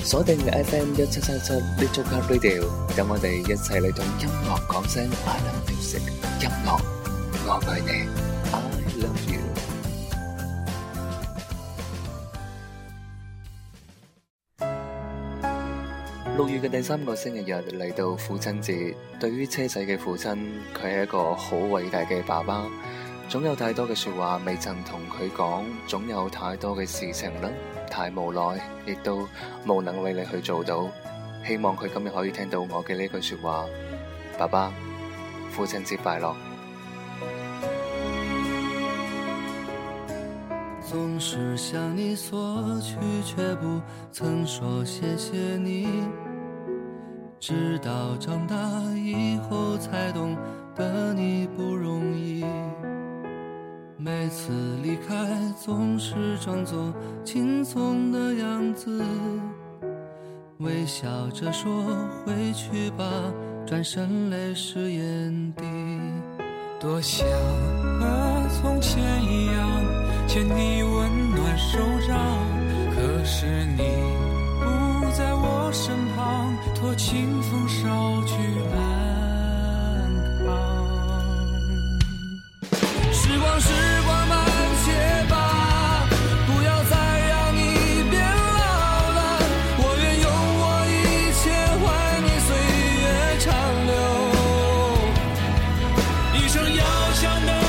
鎖定 FM 1737 Little Car Radio， 等我哋一齊嚟同音樂講聲 I love music， 音樂我愛你 I love you。 6月嘅第3個星期日嚟到父親節，對於車仔嘅父親，佢係一個好偉大嘅爸爸，總有太多嘅說話未曾同佢講，總有太多嘅事情啦，太無奈，亦都無能為你去做到。希望佢今日可以聽到我嘅呢句說話，爸爸，父親節快樂。 總是向你索取，卻不曾說謝謝你，直到長大以後才懂得你不容易，每次離開總是裝作輕鬆的樣子，微笑着說回去吧，轉身淚濕眼底，多想和從前一樣牽你溫暖手掌，可是你不在我身旁，托清風捎去安康。時光時光慢些吧，不要再讓你變老了，我願用我一切換你歲月長留，一生要強的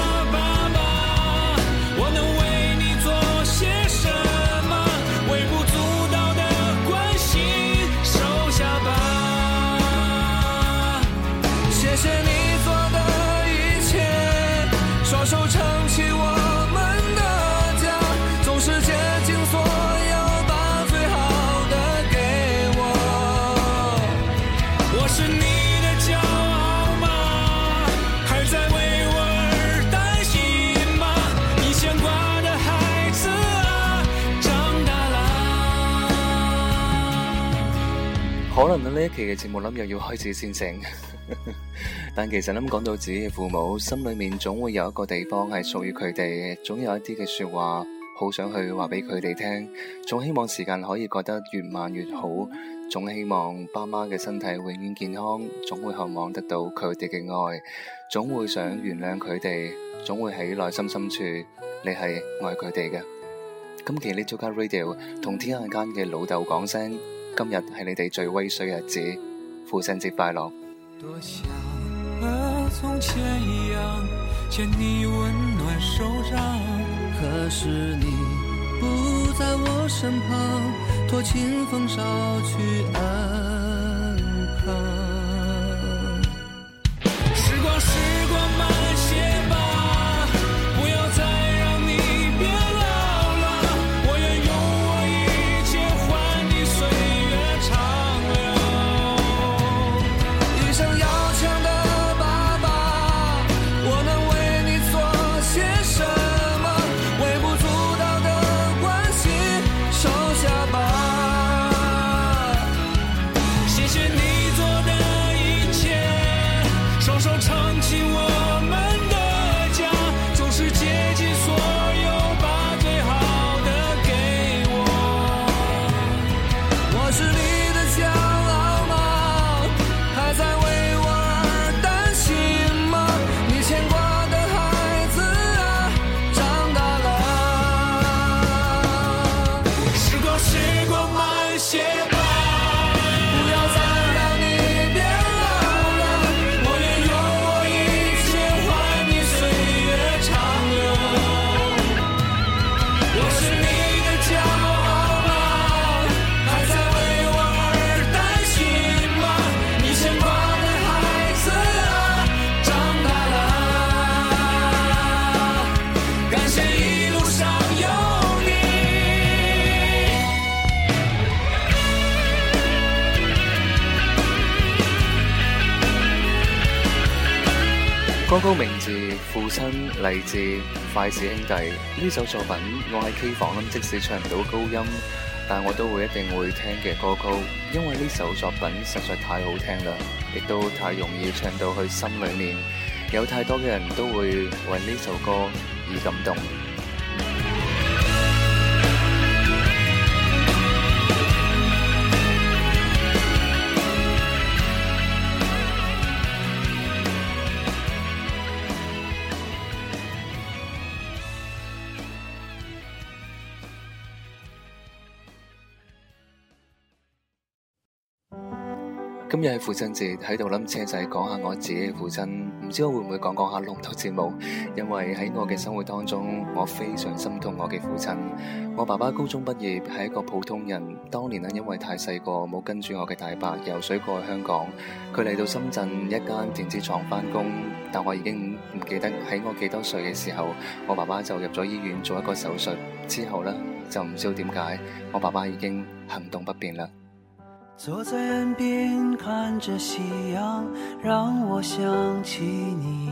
可能呢一期嘅節目諗又要開始先成，但其實諗講到自己嘅父母，心裏面總會有一個地方係屬於佢哋，總有一啲嘅說話好想去話俾佢哋聽，總希望時間可以過得越慢越好，總希望爸媽嘅身體永遠健康，總會渴望得到佢哋嘅愛，總會想原諒佢哋，總會喺內心深處你係愛佢哋嘅。今期Little Car Radio同天下間嘅老豆講聲，今日係你哋最威水嘅日子，父親節快樂。 多想和從前一樣牽你溫暖手掌，可是你不在我身旁，托清風捎去安康。時光時光慢些吧，不要再讓你變老了，我願用我一切換你歲月長留，一生要強的爸爸，我能為你做些什麼，微不足道的關心收下吧，謝謝你做的一切，雙手撐起我們的家，總是竭盡所有把最好的給我，我是你的驕傲嗎？還在為我而擔心嗎？你牽掛的孩子啊，長大了，時光時光慢些吧，不要再讓你變老了，我願用我一切換你歲月長留，我是你的驕傲嗎？還在為我而擔心嗎？你牽掛的孩子啊，長大了，感謝一路上有你。 歌曲名字《父親》嚟自筷子兄弟，呢首作品我喺 K 房即使唱唔到高音，但我都會一定會聽嘅歌曲，因為呢首作品實在太好聽啦，亦都太容易唱到去心裏面，有太多嘅人都會為呢首歌而感動。 今日係父親節，喺度諗車仔講下我自己嘅父親，唔知我會唔會講下錄唔到節目，因為喺我嘅生活當中，我非常心痛我嘅父親。我爸爸高中畢業係一個普通人，當年因為太細個冇跟住我嘅大伯游水過去香港，佢嚟到深圳一間電子廠返工，但我已經唔記得喺我幾多歲嘅時候，我爸爸就入咗醫院做一個手術，之後就唔知道點解我爸爸已經行動不便啦。 坐在岸邊看着夕陽，讓我想起你，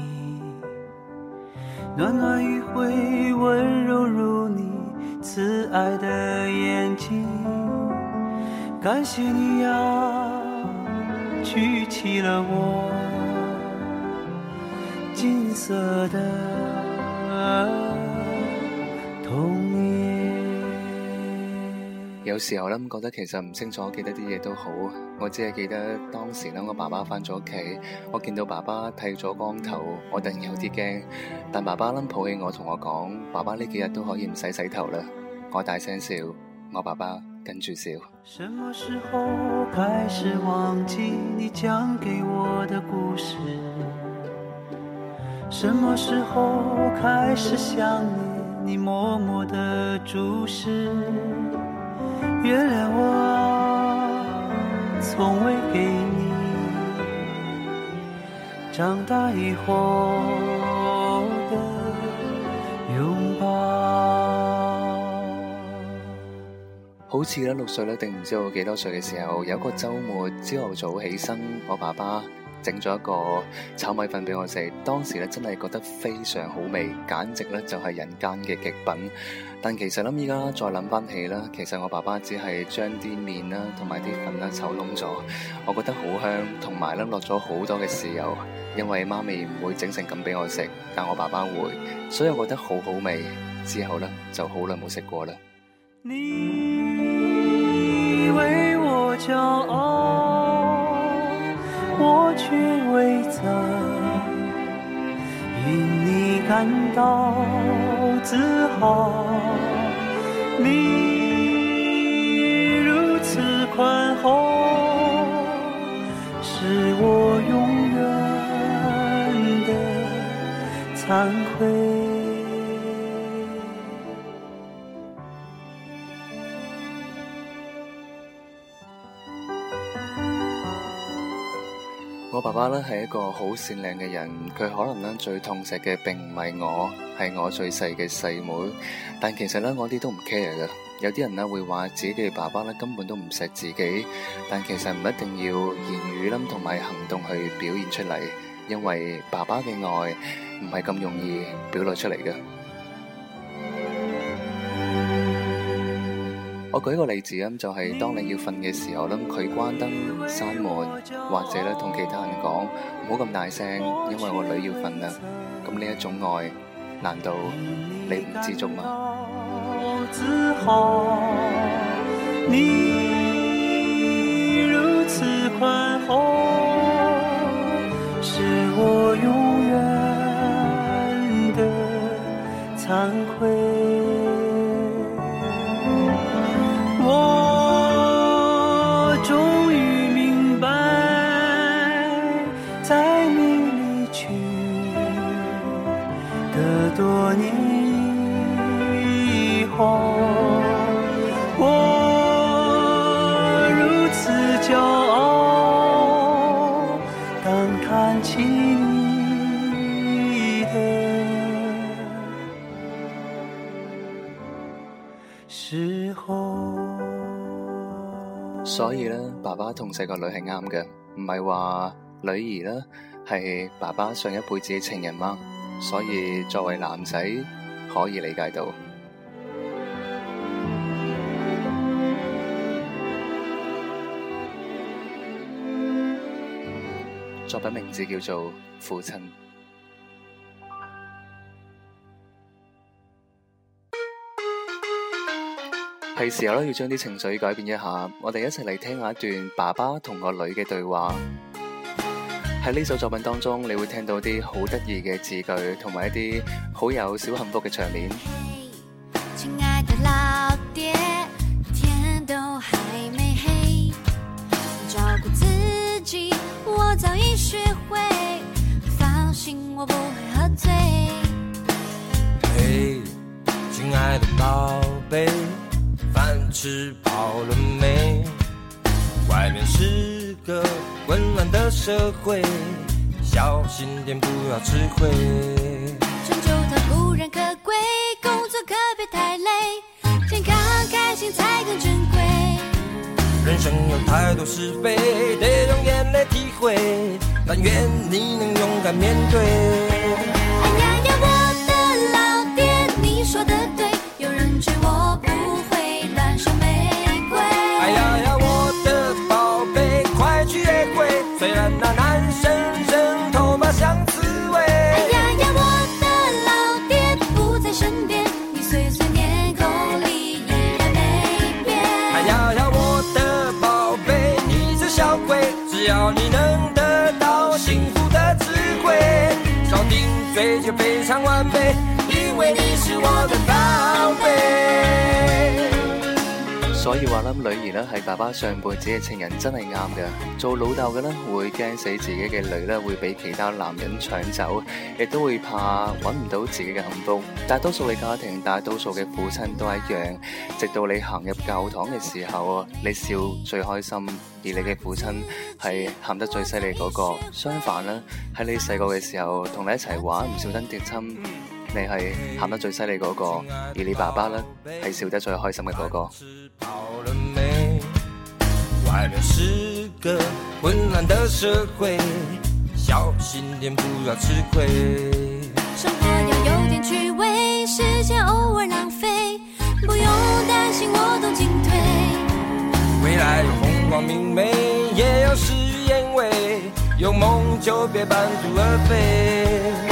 暖暖餘暉溫柔如你慈愛的眼睛，感謝你呀，舉起了我金色的童年。 有時候覺得其實唔清楚記得啲嘢都好，我只係記得當時我爸爸返咗屋企，我見到爸爸剃咗光頭，我突然有啲驚，但爸爸抱起我同我講，爸爸呢幾日都可以唔使洗頭啦。我大聲笑，我爸爸跟住笑。 什麼時候開始忘記你講給我的故事？什麼時候開始想念你默默的注視？原諒我從未給你長大以後的擁抱。 好似6歲定唔知道幾多歲嘅時候，有一個週末朝頭早起身，我爸爸整咗一個炒米粉俾我食，當時真係覺得非常好味，簡直就係人間嘅極品。但其實依家再諗翻起啦，其實我爸爸只係將啲麵啦同埋啲粉炒燶咗，我覺得好香，同埋落咗好多嘅豉油，因為媽咪唔會整成咁俾我食，但我爸爸會，所以我覺得好好味。之後就好耐冇食過啦。 你為我驕傲，我卻未曾因你感到自豪，你如此寬厚，是我永遠的慚愧。 我爸爸係一個好善良嘅人，佢可能最痛錫嘅並唔係我，係我最細嘅細妹。但其實我啲都唔 care 嘅。有啲人會話自己嘅爸爸根本都唔錫自己，但其實唔一定要言語同埋行動去表現出嚟，因為爸爸嘅愛唔係咁容易表露出嚟嘅。我舉個例子就係當你要瞓嘅時候佢關燈閂門，或者同其他人講唔好咁大聲，因為我女要瞓啦。咁呢一種愛，難道你唔知足嗎？ 自豪，你如此寬厚，是我永遠的慚愧。我終於明白，在你離去的多年以後，我如此驕傲，當看起你的時候。 所以爸爸痛錫個女係啱嘅，唔係話女兒係爸爸上一輩子嘅情人嗎？所以作為男仔可以理解到。作品名字叫做《父親》。係時候要將啲情緒改變一下，我哋一齊嚟聽下一段爸爸同個女嘅對話。喺呢首作品當中，你會聽到啲好得意嘅字句，同埋一啲好有小幸福嘅場面。 親愛的老爹，天都還沒黑，照顧自己信我不会喝醉。 嘿，亲爱的宝贝，饭吃饱了没？外面是个混乱的社会，小心点不要吃亏。 成就它固然可贵，工作可别太累，健康开心才更珍贵。 人生有太多是非，得用眼泪体会，但愿你能勇敢面对。 哎呀呀，我的老爹，你说的对，有人追我不会乱收玫瑰。 哎呀呀，我的宝贝，快去约会，虽然那男生人头发像刺猬。 哎呀呀，我的老爹不在身边，你碎碎念口里依然没变。 哎呀呀，我的宝贝，你这小鬼，只要你能得到幸福的智慧，少顶嘴就非常完美，因為你是我的寶貝。 所以話啦，女兒咧係爸爸上輩子嘅情人真係啱嘅。做老豆嘅咧會驚死自己嘅女咧會俾其他男人搶走，亦都會怕揾唔到自己嘅幸福。大多數嘅家庭，大多數嘅父親都一樣，直到你行入教堂嘅時候，你笑最開心，而你嘅父親係喊得最犀利嗰個。相反啦，喺你細個嘅時候，同你一齊玩唔小心跌親，你係喊得最犀利嗰個，而你爸爸呢係笑得最開心嘅嗰個。 外面是個混亂的社會，小心點不要吃虧。 生活要有點趣味，時間偶爾浪費，不用擔心我懂進退。 未來有風光明媚，也有事與願違，有夢就別半途而廢。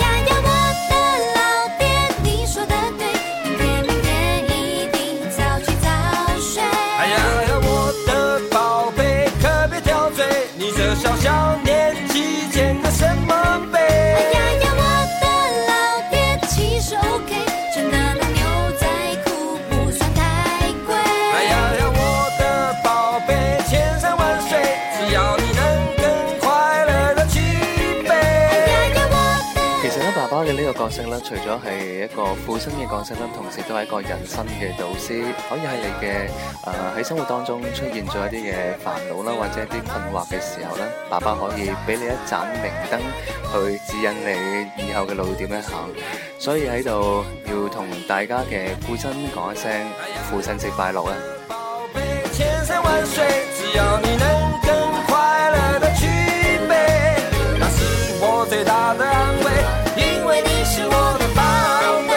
小小年紀撿個什麼杯？ 哎呀呀，我的老爹其實 OK， 真的那牛仔褲不算太貴。 哎呀呀，我的寶貝，千山萬水，只要你能更快樂地去飛。 哎呀呀，我的。 其實咧，爸爸嘅呢個角色咧，除咗係一個父親嘅角色咧，同時都係一個人生嘅導師，可以喺你嘅喺生活當中出現咗一啲嘅煩惱啦，或者一啲困惑嘅時候咧，爸爸可以俾你一盞明燈去指引你以後嘅路點樣行。所以喺度要同大家嘅父親講一聲父親節快樂啊！ 千山萬水，只要你能更快樂地去飛，那是我最大的安慰，因為你是我的寶貝。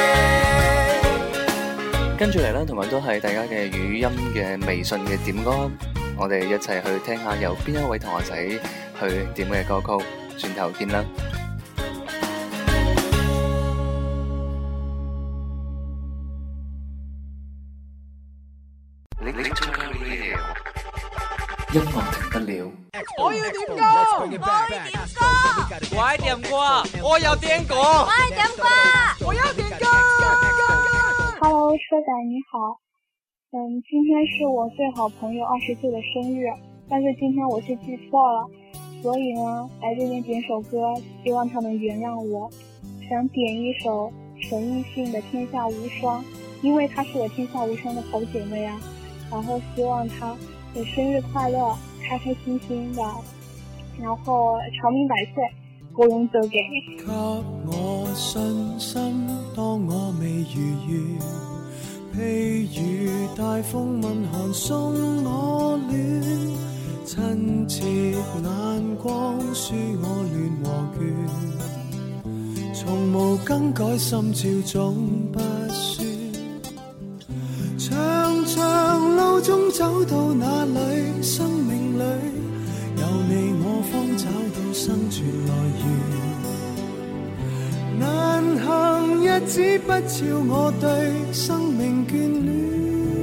跟住嚟咧，同樣都係大家嘅語音嘅微信嘅點歌，我哋一齊去聽下由邊一位同學仔去點嘅歌曲，轉頭見啦！音樂停不了。 我要點歌，我愛點歌，我要點歌，我愛點歌，我要點歌。 Hello， 車仔你好，今天是我最好朋友20歲的生日，但是今天我是記錯了，所以呢，來這邊點首歌，希望他們原諒我。想點一首陳奕迅的《天下無雙》，因為她是我天下無雙的好姐妹啊，然後希望她生日快樂，開開心心的，然後長命百歲，高榮就給你。 給我信心，當我未如願，譬如大風問寒送我暖，親切眼光輸我亂和倦，從無更改心照總不算。長長路中走到哪裏，生命裏有你我方找到生存來源。難行日子不照我對生命眷戀，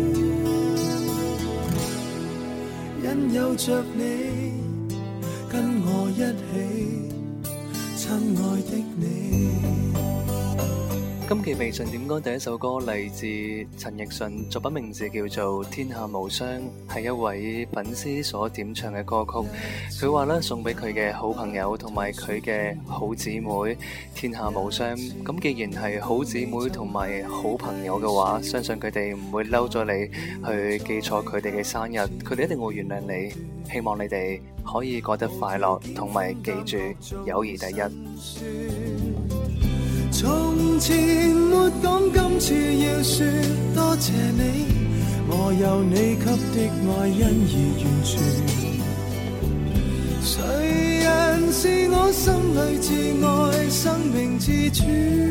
因有着你跟我一起，親愛的你。 今期微信點歌第一首歌嚟自陳奕迅，作品名字叫做《天下無雙》，係一位粉絲所點唱嘅歌曲。佢話咧送俾佢嘅好朋友同埋佢嘅好姊妹，天下無雙。咁既然係好姊妹同埋好朋友嘅話，相信佢哋唔會嬲咗你去記錯佢哋嘅生日，佢哋一定會原諒你。希望你哋可以過得快樂，同埋記住友誼第一。 從前沒講，今次要說多謝你，我有你給的愛因而完全。誰人是我心裏至愛生命之主，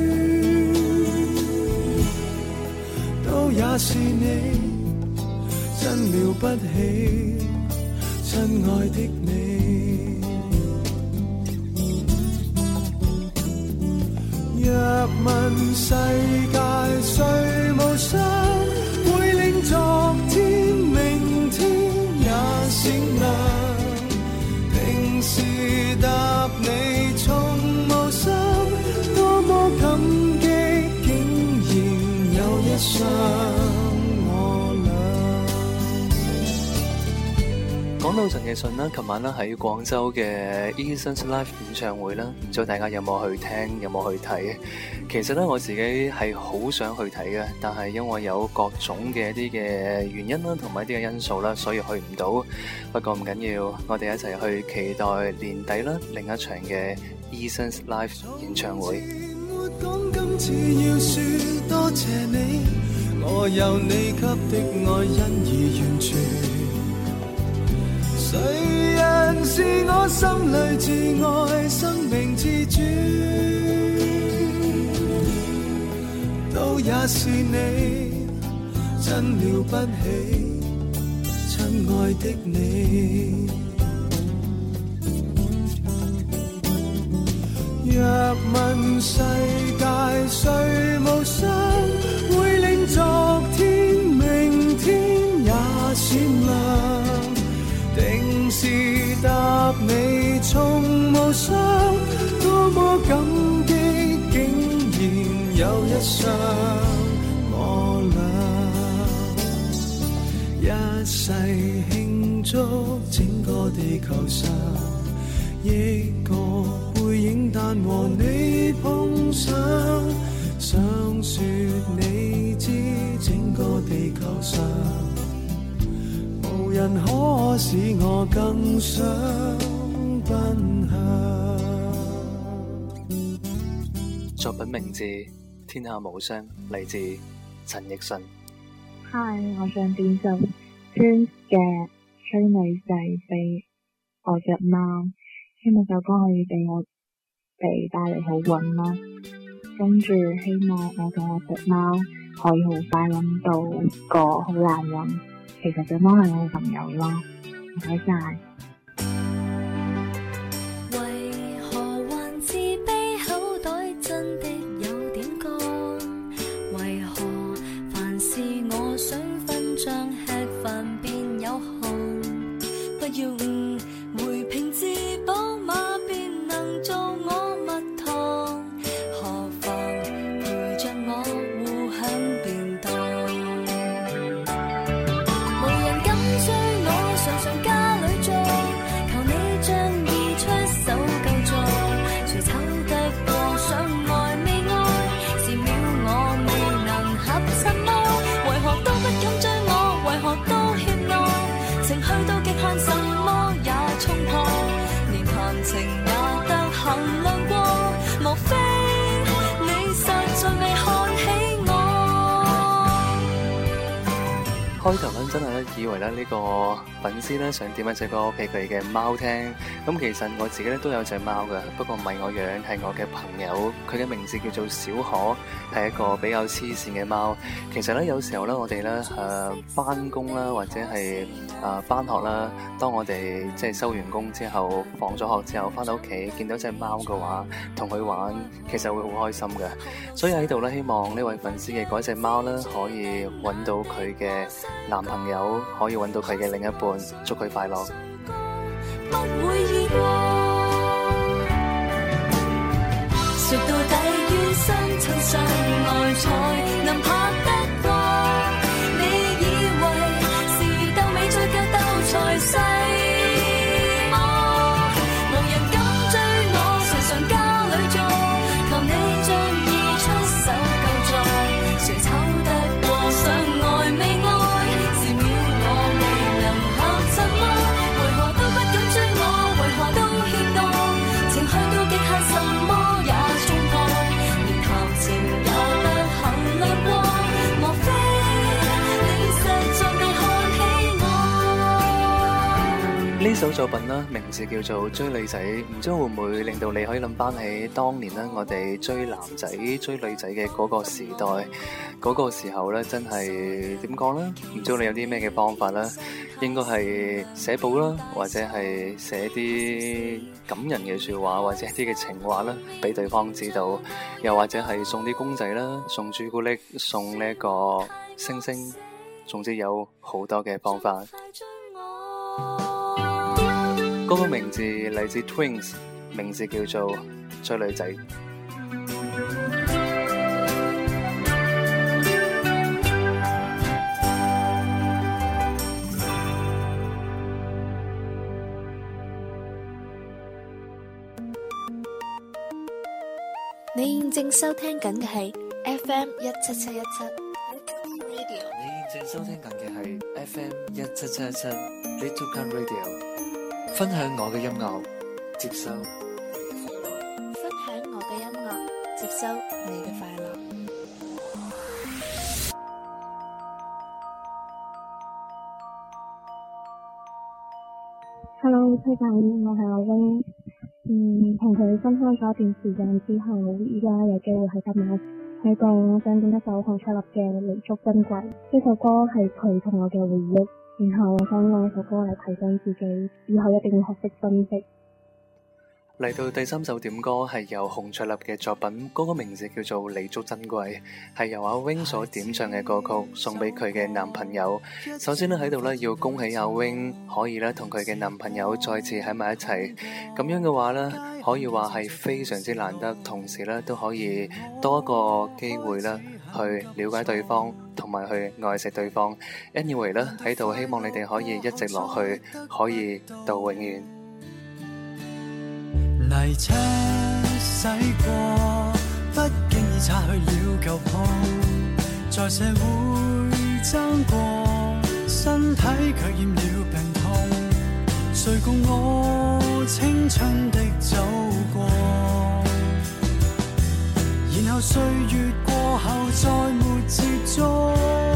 都也是你，真了不起，親愛的你。若問世界誰無雙，會令昨天明天也閃亮。平時答你從無心，多麼感激，竟然有一雙。 講到陳奕迅啦，琴晚啦喺廣州嘅 Eason Live 演唱會啦，唔知道大家有冇去聽，有冇去睇？其實咧我自己係好想去睇嘅，但係因為有各種嘅一啲嘅原因啦，同埋一啲嘅因素啦，所以去唔到。不過唔緊要，我哋一齊去期待年底啦另一場嘅 Eason Live 演唱會。 今次要說多謝你，我有你給的愛因而完全。誰人是我心裏至愛生命之主，都也是你，真了不起，親愛的你。若問世界誰無雙，會令昨天明天也閃亮。定時答你從無雙，多麼感激，竟然有一雙我倆，一世慶祝整個地球上，億個背影但和你碰上，想說你知整個地球上無人可使我更想奔向。 作品名字《天下無雙》，嚟自陳奕迅。 嗨，我想點首 Prince 嘅《催你逝》俾我隻貓，希望首歌可以俾我哋帶嚟好運啦。跟住希望我同我隻貓可以好快揾到個好男人。其實隻貓係我嘅朋友咯，唔該晒。 為何還自卑，口袋真的有點乾？為何凡事我想分賬，吃飯便有汗？不要誤會，平治寶馬便能做我蜜糖，何妨陪着我互享便當。常家裏做，求你將意出手救助，誰醜得過上愛未愛，是秒我未能合襯麼？為何都不敢追我，為何都怯懦，情去到極限什麼也衝破，連談情也得衡量過，無非你實在未看起我。 開頭咧真係咧以為咧呢個粉絲咧想點一隻歌俾佢嘅貓聽，咁其實我自己咧都有隻貓嘅，不過唔係我養，係我嘅朋友，佢嘅名字叫做小可，係一個比較黐線嘅貓。其實咧有時候咧我哋咧返工啦，或者係返學啦，當我哋即係收完工之後，放咗學之後返到屋企見到隻貓嘅話，同佢玩其實會好開心嘅。所以喺度咧希望呢位粉絲嘅嗰隻貓咧可以揾到佢嘅男朋友，可以揾到佢嘅另一半，祝佢快樂。 不會意過，說到底於心曾相愛才能拍得過。你以為是鬥美再格鬥才細麼？無人敢追我，常常家裏坐，求你仗義出手救助。誰醜得過相愛未愛？是秒我未能合襯麼？為何都不敢追我？為何都怯懦？情去到極限，什麼也衝破，連談情也不肯亮過。莫非你實在未看起我？ 呢首作品呢，名字叫做《追女仔》，唔知會唔會令到你可以諗翻起當年呢，我哋追男仔、追女仔嘅嗰個時代，嗰個時候呢，真係點講呢？唔知道你有啲咩嘅方法呢？應該係寫簿啦，或者係寫啲感人嘅說話，或者一啲嘅情話啦，俾對方知道，又或者係送啲公仔啦，送朱古力，送呢個星星，總之有好多嘅方法。嗰個名字嚟自 Twins， 名字叫做追女仔。 你現正收聽緊嘅係 FM 177717 Radio。 你現正收聽緊嘅係 FM 1777 Little Gun Radio。分享我嘅音樂，接收分享我嘅音樂，接收你嘅快樂。 Hello， 崔大姨，我係阿 Wing。同佢分開咗一段時間之後，依家有機會喺今晚喺度想點一首洪卓立嘅《彌足珍貴》。呢首歌係佢同我嘅回憶，然後我想用呢首歌嚟提醒自己，以後一定要學識珍惜。 嚟到第三首點歌係由洪卓立嘅作品，嗰個名字叫做《彌足珍貴》，係由阿 Wing 所點唱嘅歌曲，送俾佢嘅男朋友。首先咧喺度咧要恭喜阿 Wing 可以咧同佢嘅男朋友再次喺埋一齊，咁樣嘅話咧可以話係非常之難得，同時咧都可以多一個機會咧去了解對方，同埋去愛惜對方。Anyway 咧喺度希望你哋可以一直落去，可以到永遠。 泥車洗過，不經意擦去了舊泡，在社會爭過，身體卻染了病痛。誰共我青春的走過，然後歲月過後再沒接觸。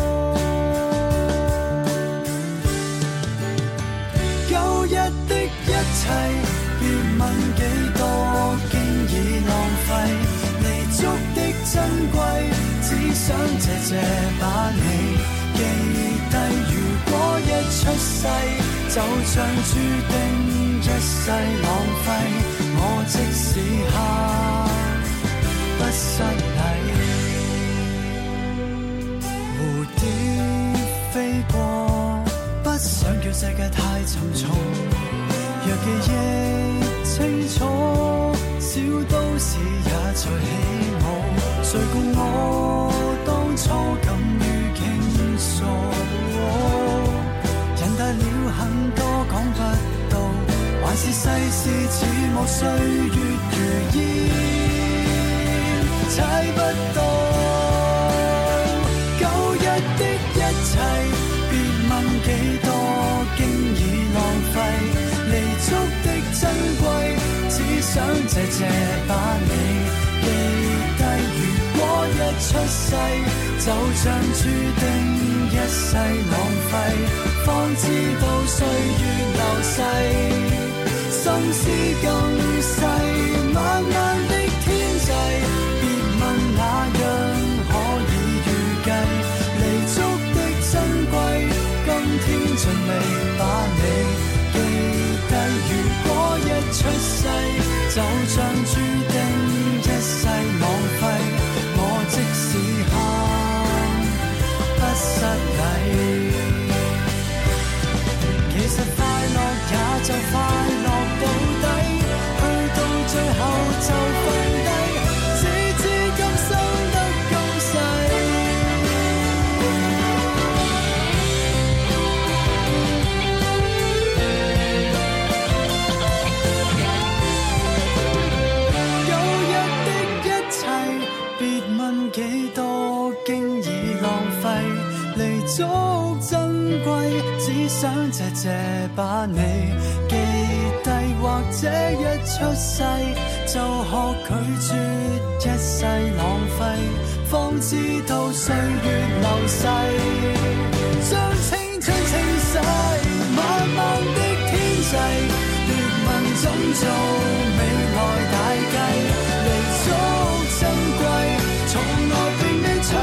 舊日的一切別問幾多，經已浪費彌足的珍貴，只想謝謝把你記低。如果一出世就像注定一世浪費，我即使刻不失禮。蝴蝶飛過，不想叫世界太沉重，若記憶清楚，小都市也在起舞。誰共我當初敢於傾訴，人大了很多講不到，還是世事似霧，歲月如煙猜不到。舊日的一切別問幾多，經已浪費彌足的珍貴，只想謝謝把你記低。如果一出世就像注定一世浪費，方知道歲月流逝，心思更細。漫漫的天際，別問那樣可以預計，彌足的珍貴，今天盡未把你記低。如果一出世就像注定一世浪費，我即使喊不失禮。其實快樂也就快樂到底，去到最後就珍貴，只想謝把你記低，或者一出世就學拒絕一世浪費，方知道歲月流逝，將青春清洗，慢慢的天際，別問怎做，未來大計，彌足珍貴，從來並未取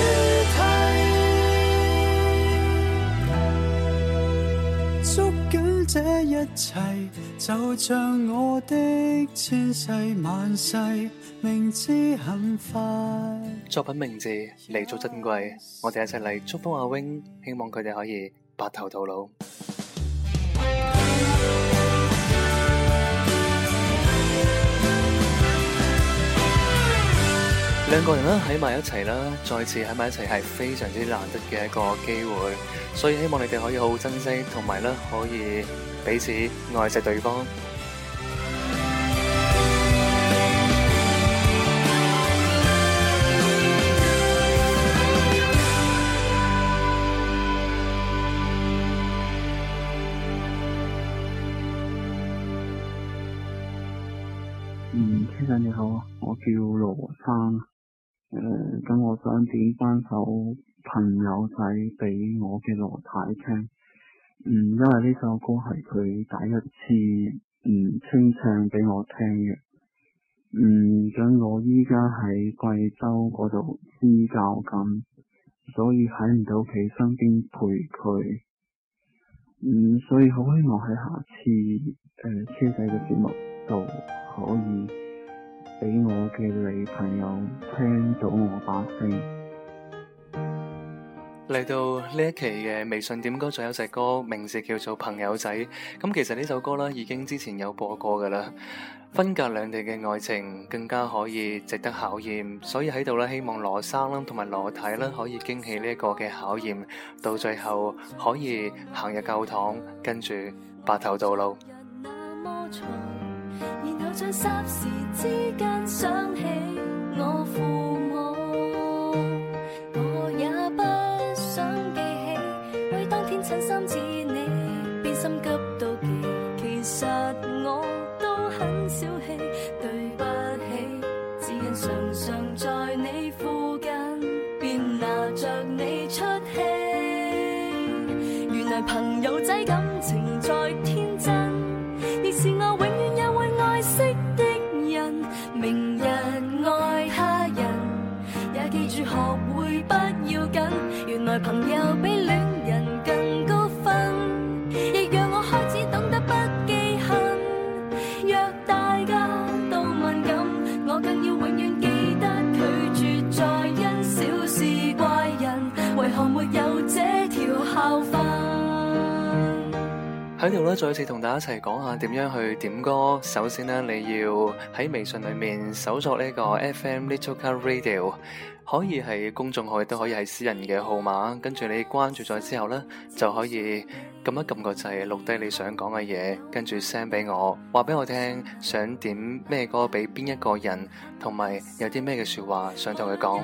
替，捉緊這一切，就像我的千世萬世，明知很快。 作品名字彌足珍貴，我哋一齊嚟祝福阿 wing， 希望佢哋可以白頭到老。兩個人啦喺埋一齊啦，再次喺埋一齊係非常之難得嘅一個機會，所以希望你哋可以好好珍惜，同埋咧可以彼此愛惜對方。 先生你好，我叫羅生。咁我想點翻首朋友仔俾我嘅羅太聽。因為呢首歌係佢第一次清唱俾我聽嘅。咁我依家喺貴州嗰度支教緊，所以喺唔到佢身邊陪佢。所以好希望喺下次車仔嘅節目度可以俾我嘅女朋友聽到我把聲。 嚟到呢一期嘅微信點歌，仲有隻歌名字叫做朋友仔。咁其實呢首歌啦已經之前有播過噶啦。分隔兩地嘅愛情更加可以值得考驗，所以喺度咧希望羅生啦同埋羅太啦可以經起呢一個嘅考驗，到最後可以行入教堂，跟住白頭到老。 然後在霎時之間想起我父母，我也不想記起，為當天親心指你，便心急到極。其實我都很小氣，對不起，只因常常在你附近，便拿着你出氣。原來朋友仔感情在天真，亦是我永遠也會愛惜的人。明日愛他人，也記住學會不要緊。原來朋友比戀人更高分，亦讓我開始懂得不記恨。若大家都敏感，我更要永遠記得拒絕再因小事怪人，為何沒有這條校訓。 喺度咧，再次同大家一齊講下點樣去點歌。首先呢，你要喺微信裏面搜索呢個 FM Little Car Radio， 可以係公眾號，亦都可以係私人嘅號碼。跟住你關注咗之後呢，就可以撳一撳個掣，錄低你想講嘅嘢，跟住 send 俾我，話俾我聽想點咩歌俾邊一個人，同埋有啲咩嘅說話想同佢講。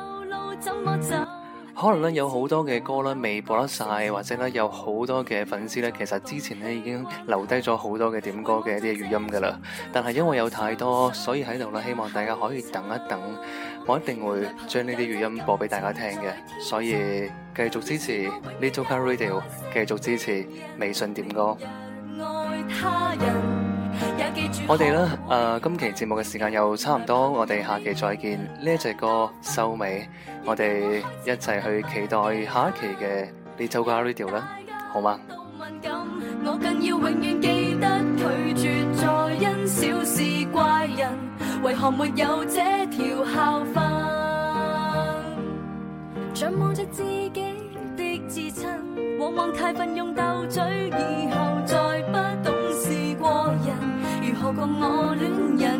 可能咧有好多嘅歌咧未播得晒，或者咧有好多嘅粉絲咧，其實之前咧已經留低咗好多嘅點歌嘅一啲語音噶啦。但係因為有太多，所以喺度咧希望大家可以等一等，我一定會將呢啲語音播俾大家聽嘅。所以繼續支持 Little Car Radio， 繼續支持微信點歌。我哋咧今期節目嘅時間又差唔多，我哋下期再見。呢一隻歌收尾，我哋一齊去期待下一期嘅 Little Car Radio 啦，好嗎？我更要永遠記得拒絕再因小事怪人，為何沒有這條校訓？像望着自己的至親，往往太奮勇鬥嘴，以後再不懂事過人，如何過我戀人。